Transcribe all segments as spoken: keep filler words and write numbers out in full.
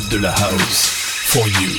code de la house. For you.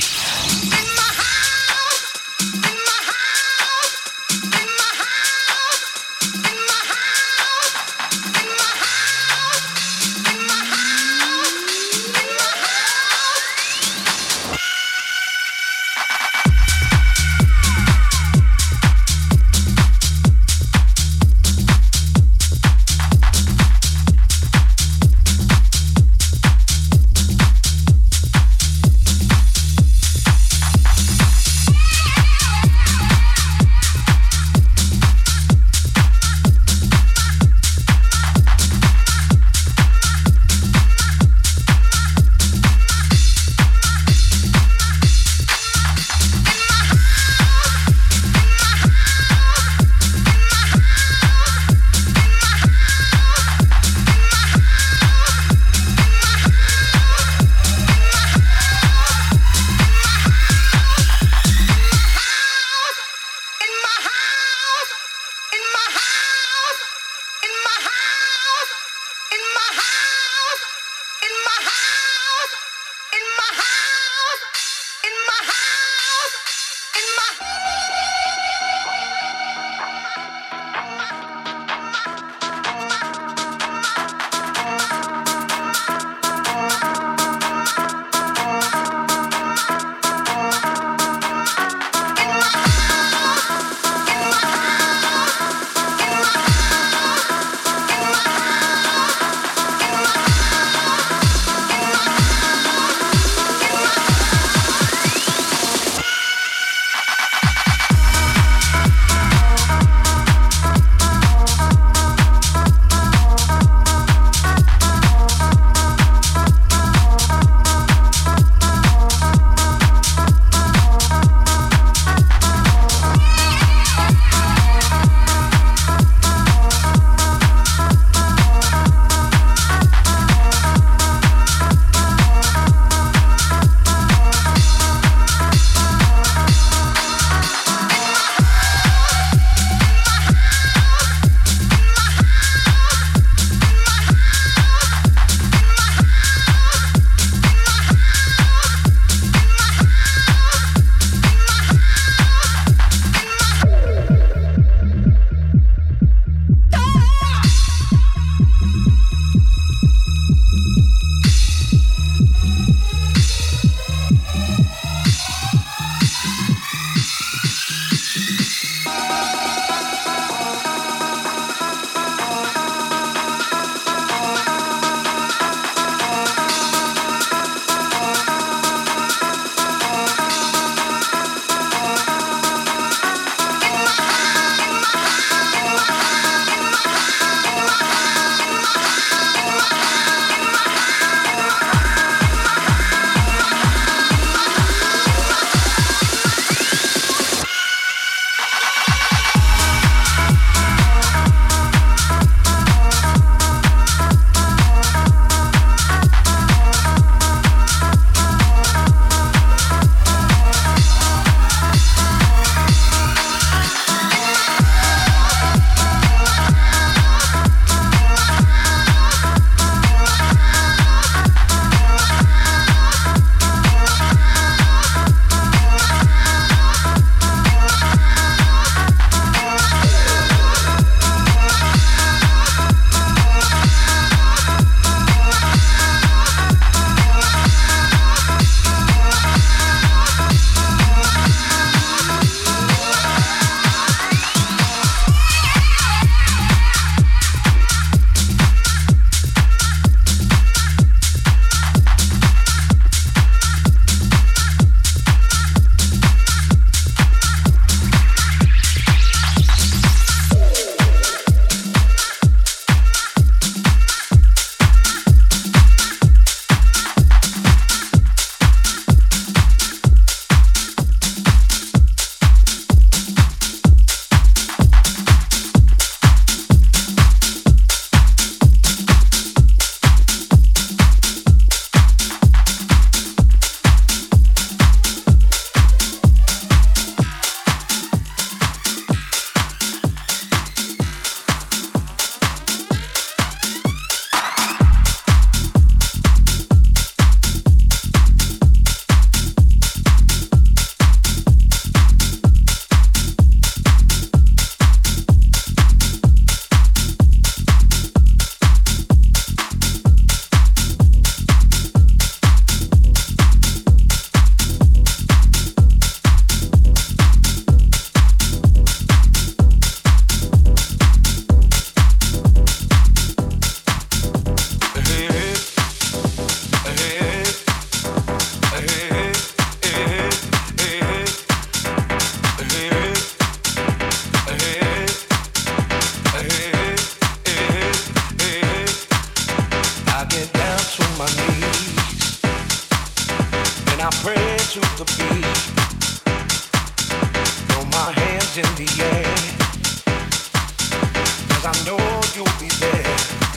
to the beat. Throw my hands in the air, 'cause I know you'll be there.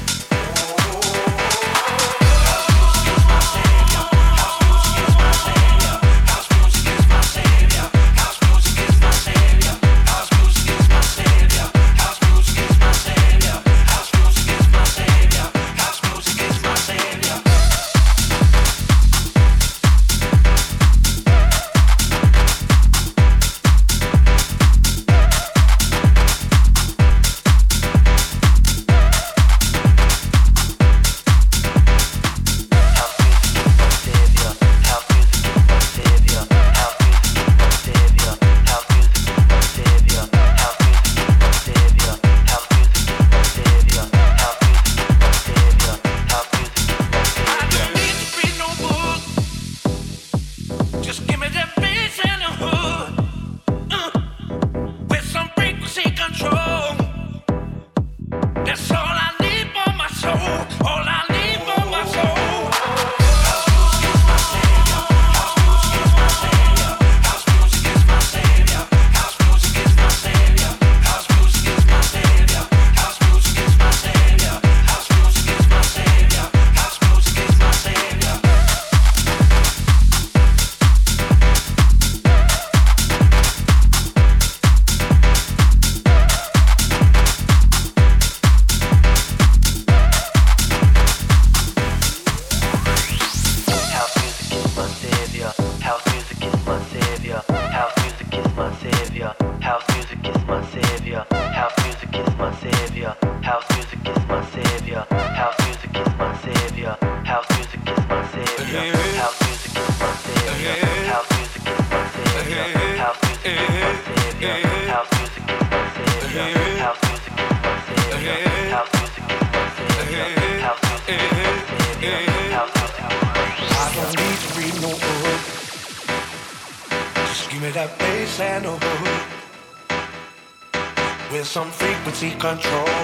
Control.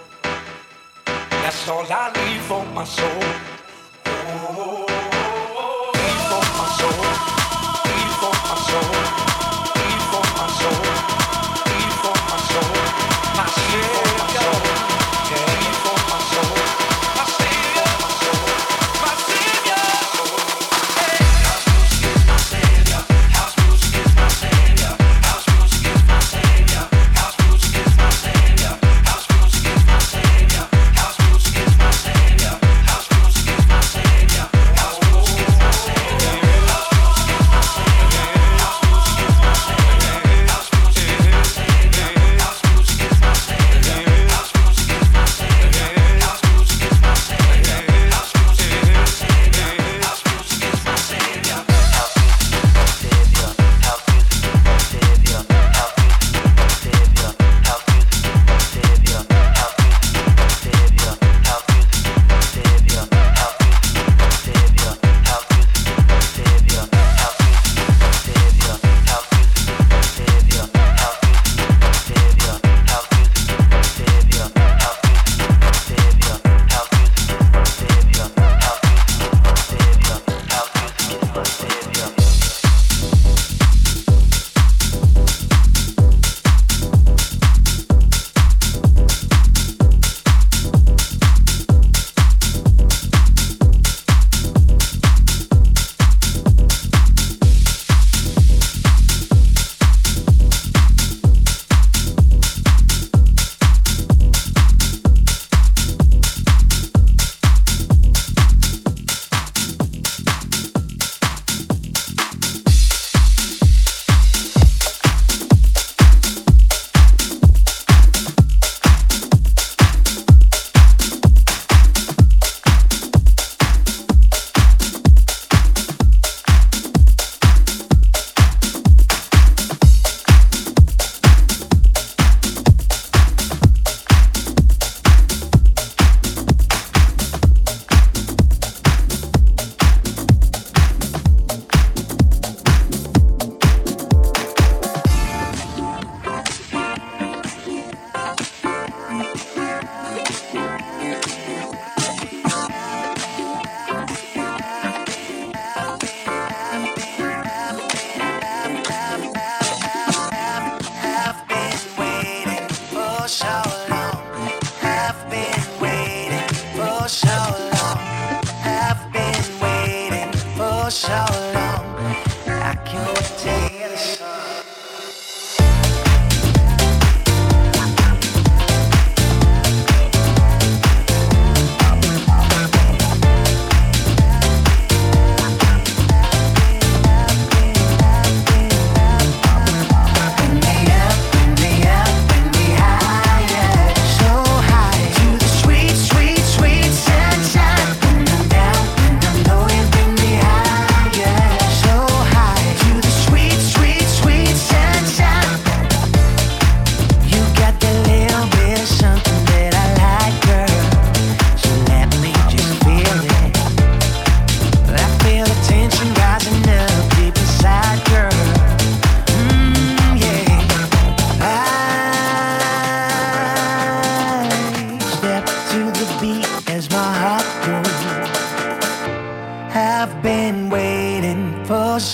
That's all I need for my soul. Oh, need for my soul. Need for my soul. Need for my soul. Need for my soul. My soul. Yeah, need for my soul. My savior. My soul. My savior. House music is my savior. House music is my savior. House music is my savior. House music is my savior. House music is my savior. House music is my savior. House music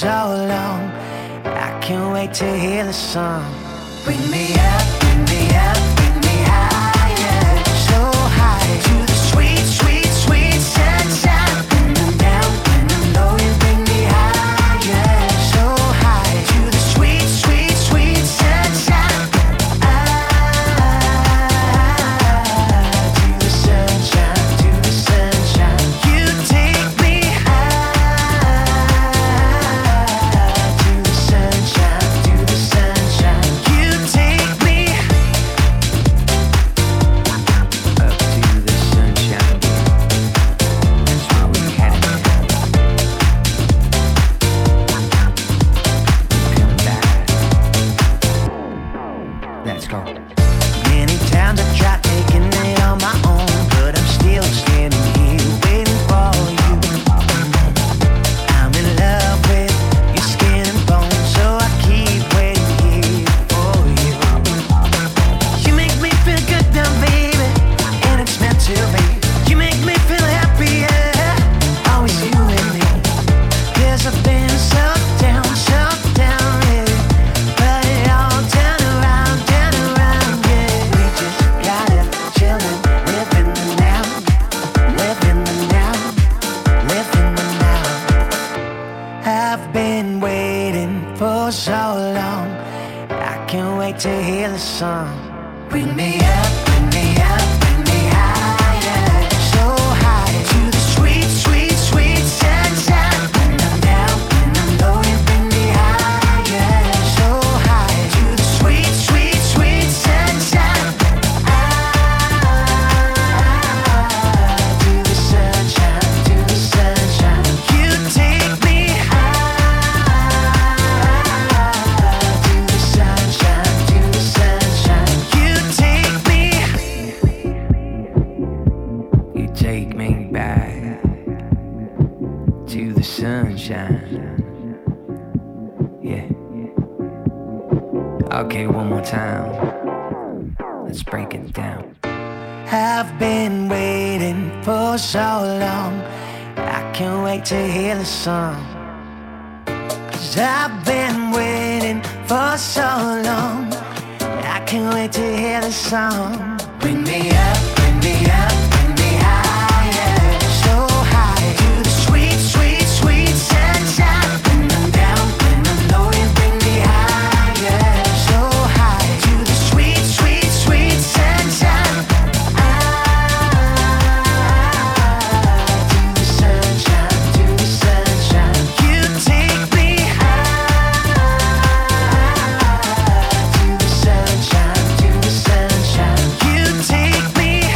so long. I can't wait to hear the song. Bring me up, bring me up, bring me higher, so high to the sweet, sweet, sweet sunshine. When I'm down, when I'm low, you bring me higher, so high to the sweet, sweet, sweet sunshine. Ah, to the sunshine, to the sunshine. You take me high to the sunshine, to the sunshine. You take me up to the sunshine. That's where we headed now. Come back. Let's go. Many times I tried taking it on my own, but I'm still standing here waiting for you. I'm in love with your skin and bones, so I keep waiting here for you. You make me feel good now, baby, and it's meant to be. You make me feel happy, yeah, always you and me. 'Cause I've been so down, so down, yeah, but it all turn around, turn around, yeah. We just gotta chillin', live in the now, live in the now, live in the now. I've been waiting for so long. I can't wait to hear the song. Bring me up, bring me up, bring me higher, so high to the sweet, sweet, sweet sunshine. When I'm down, when I'm low, you bring me higher, so high to the sweet, sweet, sweet sunshine. Ah, to the sunshine, to the sunshine. You take me high to the sunshine, to the sunshine. You take me, you take me back to the sunshine. Yeah. Okay, one more time. Let's break it down. I've been waiting for so long. I can't wait to hear the song. 'Cause I've been waiting for so long. I can't wait to hear the song. Bring me up, bring me up, bring me higher, so high to the sweet, sweet, sweet sunshine. When I'm down, when I'm low, you bring me higher, so high to the sweet, sweet, sweet sunshine. Ah, to the sunshine, to the sunshine. You take me high to the sunshine, to the sunshine. You take me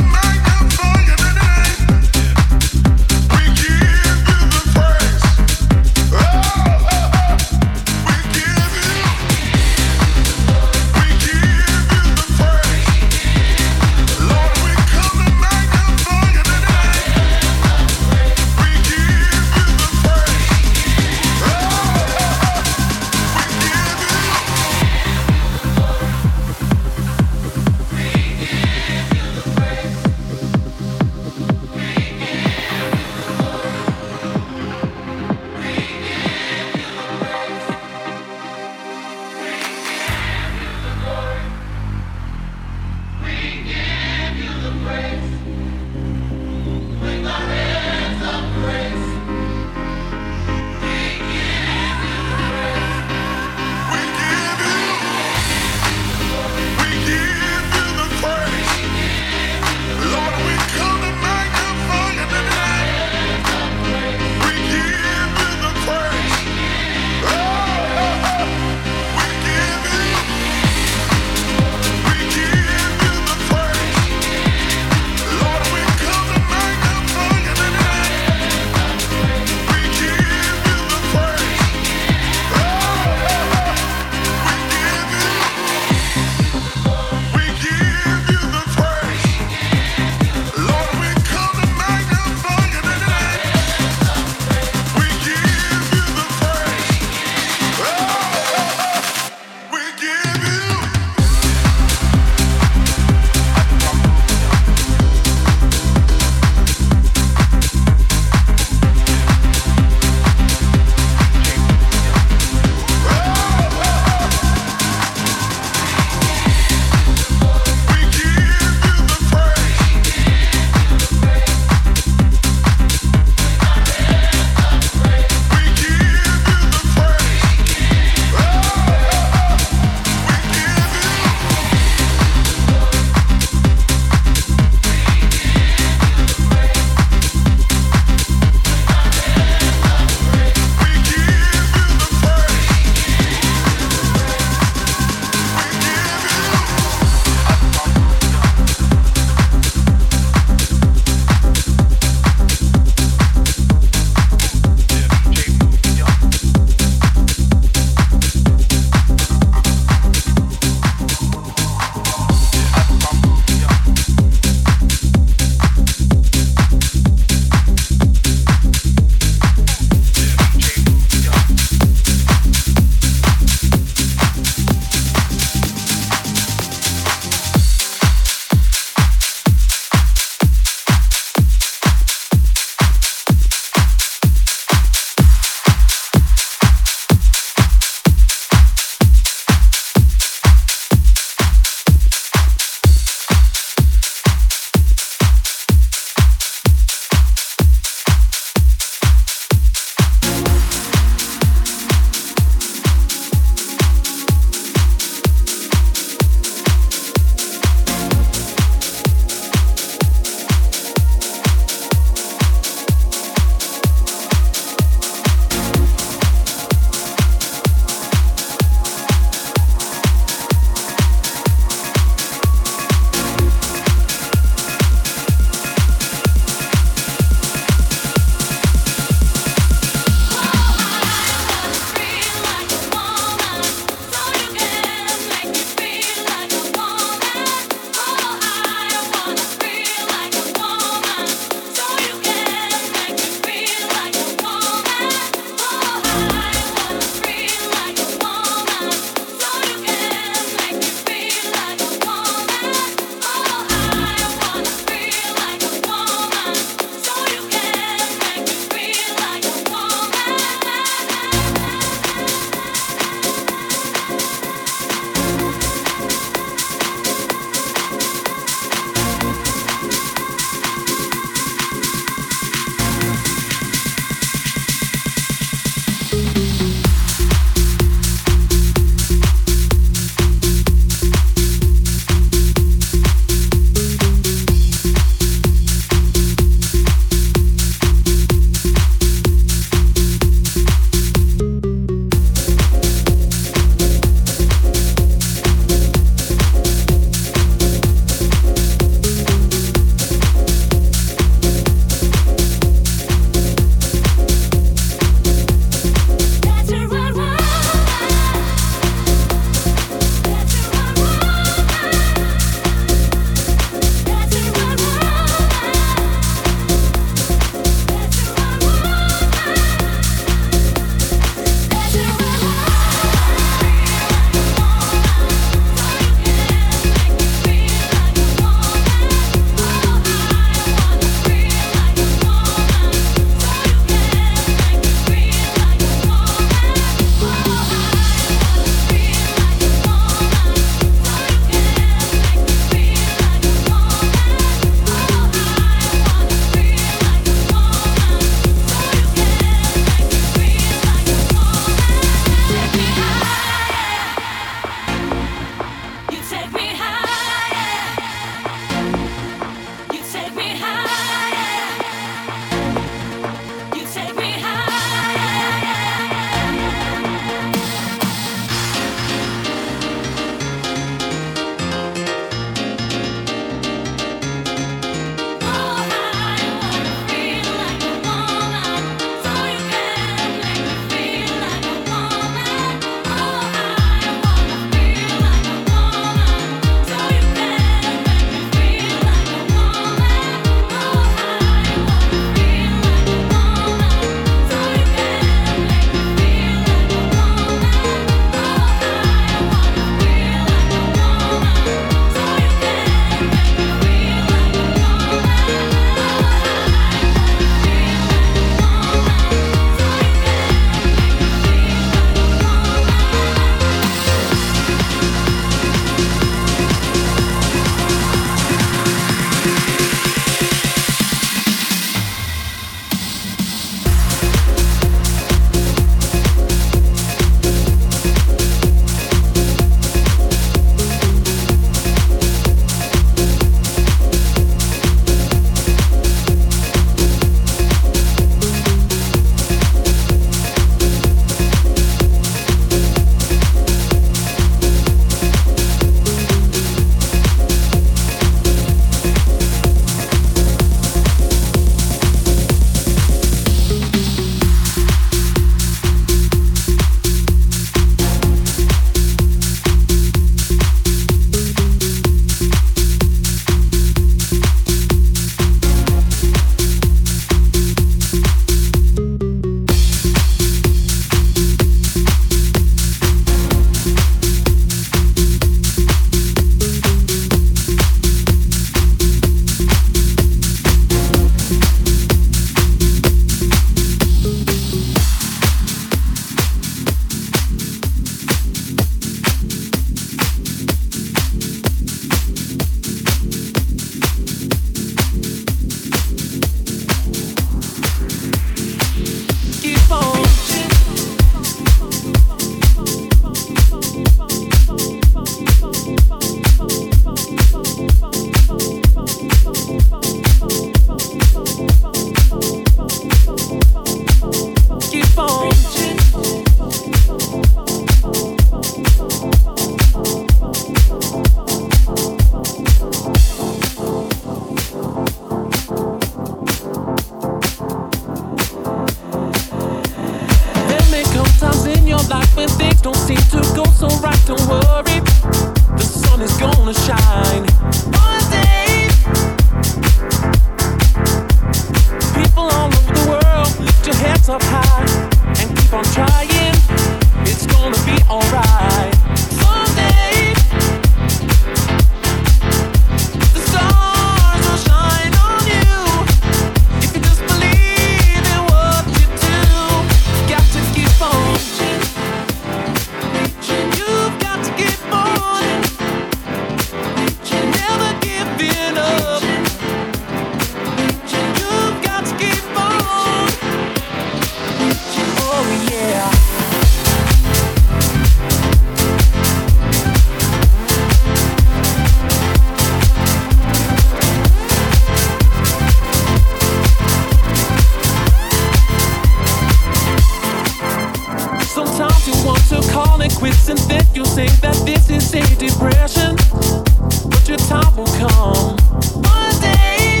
you want to call it quits and then you say that this is a depression. But your time will come one day.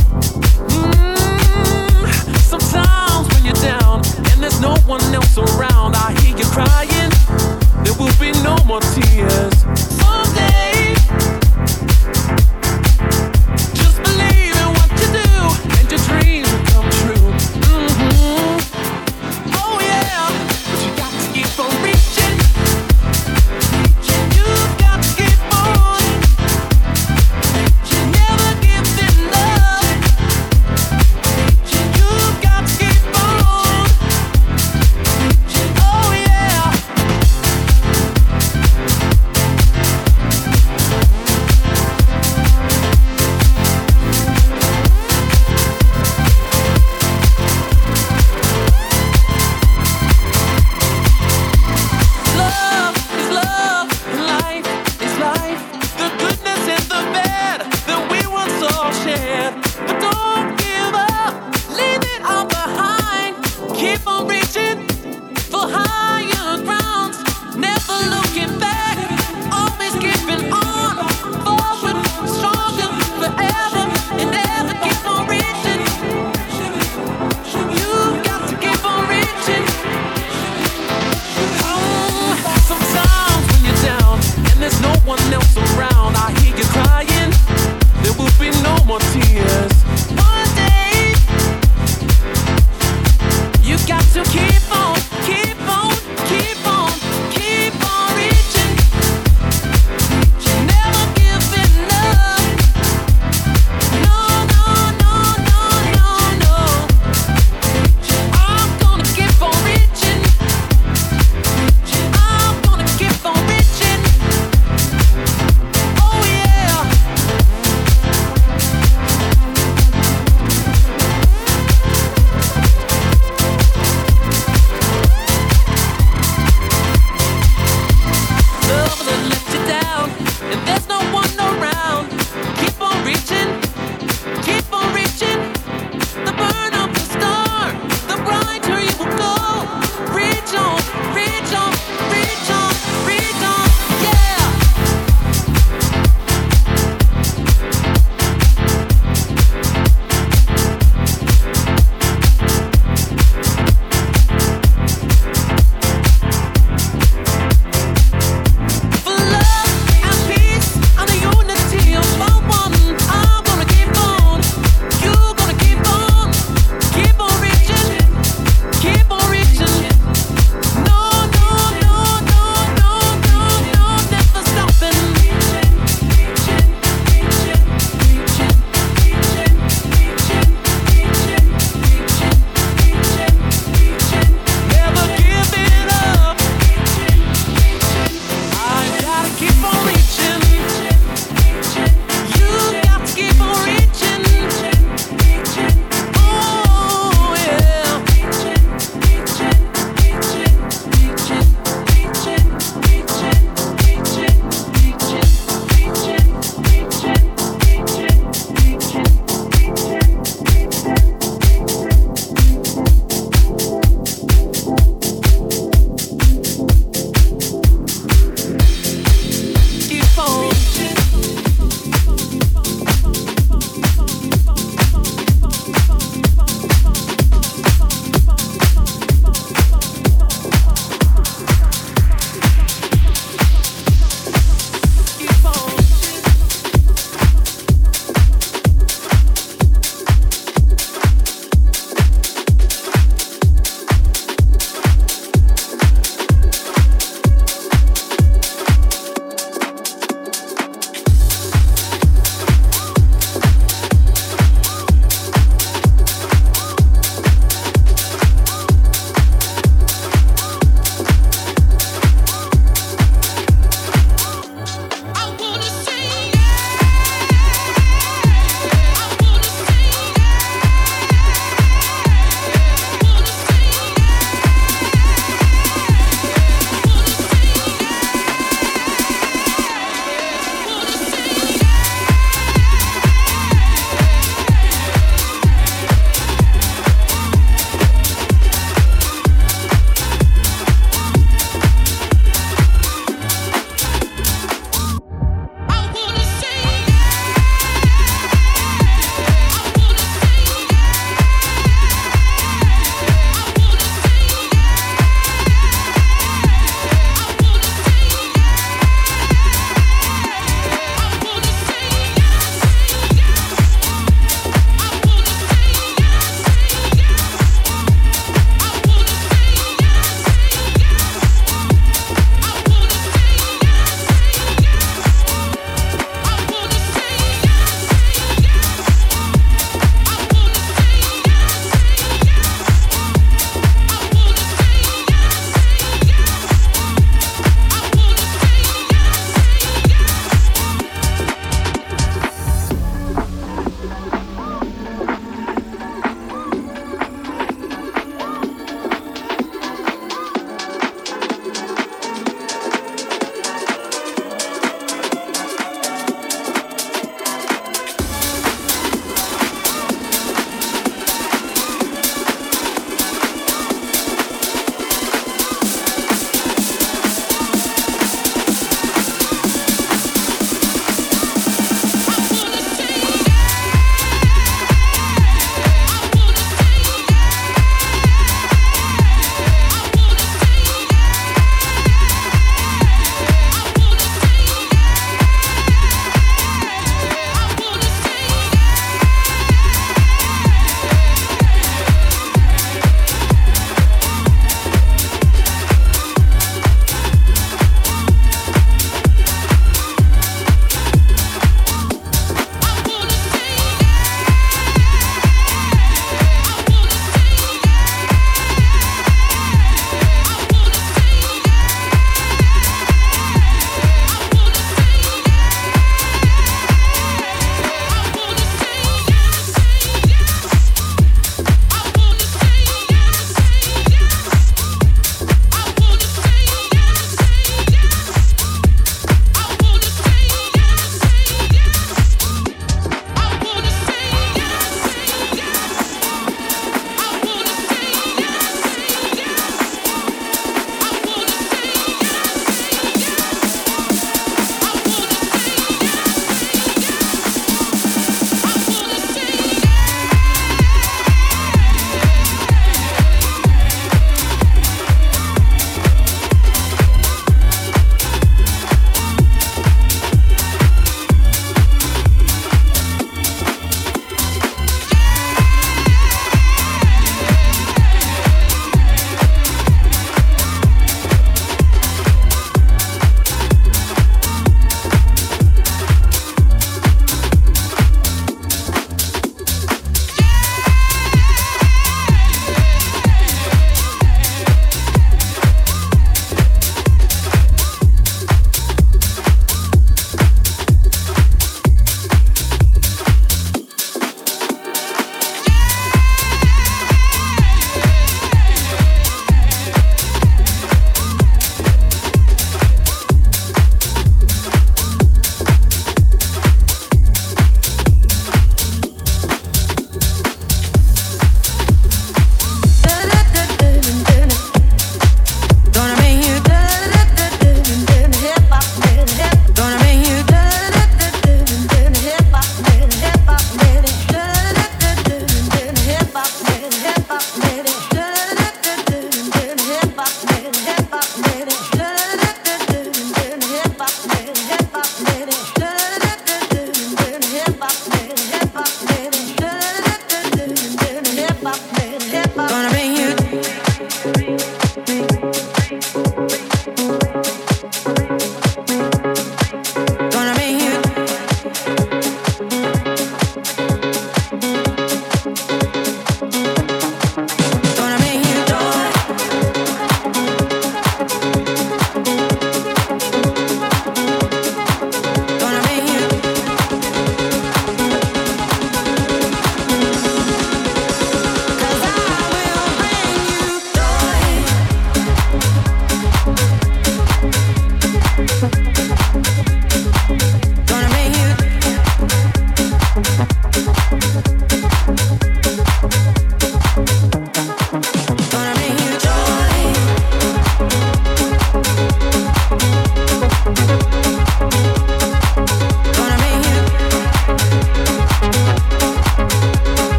Mm, sometimes when you're down and there's no one else around, I hear you crying. There will be no more tears someday. Just believe in what you do and your dreams will come true. Mm-hmm. Oh yeah, but you got to keep on reaching. You've got to keep on. Never give enough. You've got to keep on. Oh yeah. Love is love, and life is life. The goodness and the bad that we once all shared. But don't give up, leave it all behind. Keep on reaching for higher grounds. Never looking back, always keeping on. Forward, stronger, forever and ever. Keep on reaching. You've got to keep on reaching. Sometimes when you're down and there's no one else around, I hear you crying. There will be no more tears one day. You got to keep on, keep on, keep on, keep on reaching. Never give enough. No, no, no, no, no, no. I'm gonna keep on reaching. I'm gonna keep on reaching. Oh yeah. Love that let you down, and there's no